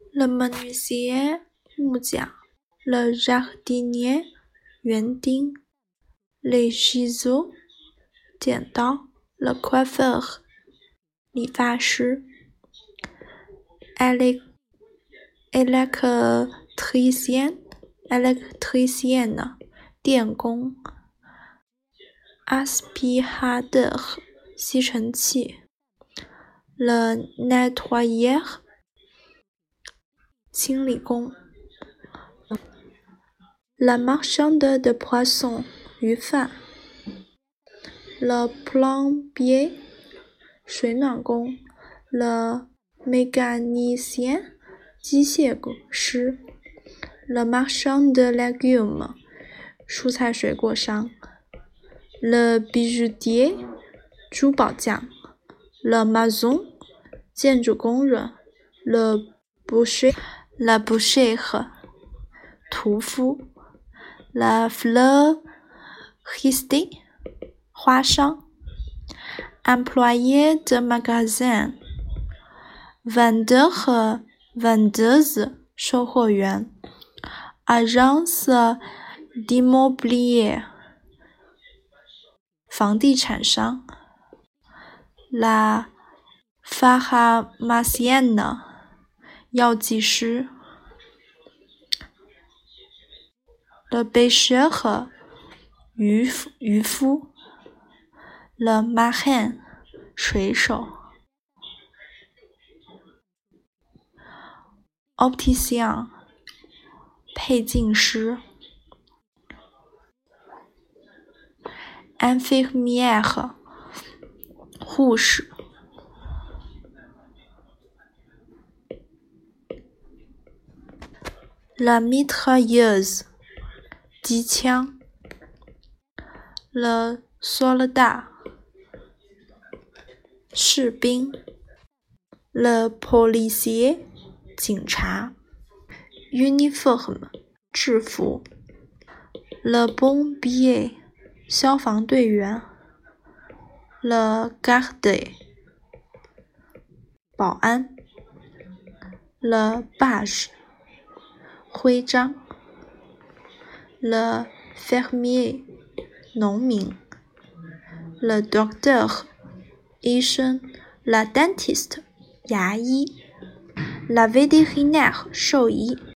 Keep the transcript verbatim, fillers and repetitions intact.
le menuisier 木匠 le jardinier 园丁 les ciseaux 剪刀 le coiffeur 理发师 électricien électricienne 电工 aspirateur 吸尘器 le nettoyeur 清理工 la marchande de poissons 鱼贩 le plombier 水暖工 le mécanicien 机械师 le marchand de légumes 蔬菜水果商 le bijoutier 珠宝匠 le maçon 建筑工人 le boucher la bouchère 屠夫 la fleuriste 花商 employé de magasin vendeur 和 vendeuse 售货员 agence d'immobilier 房地产商 la pharmacienne 药剂师 le pêcheur 渔夫渔夫 le marin 水手 opticien 配镜师 infirmière 护士 la mitrailleuse 机枪 le soldat 士兵 le policier 警察 uniforme 制服 le pompier 消防队员 le garde 保安 le badge 徽章 le fermier 农民 le docteur 医生 la dentiste 牙医 la vétérinaire 兽医